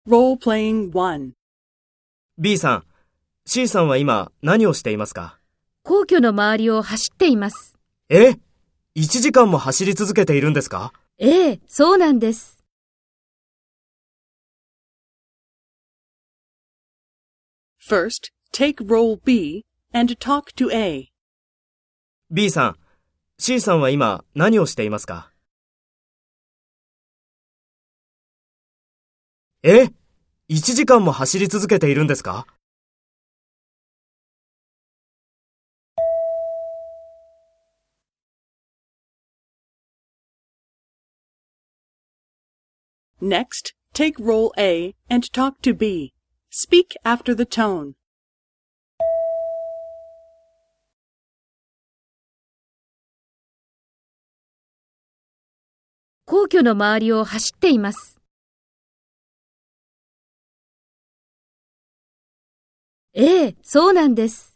Role-playing 1. B さん、C さんは今何をしていますか？ 皇居の周りを走っています。 1時間も走り続けているんですか？ ええ、そうなんです。 First, take role B and talk to A. B さん、C さんは今何をしていますか？1時間も走り続けているんですか？ Next, take role A and talk to B. Speak after the tone. 皇居の周りを走っています。ええ、そうなんです。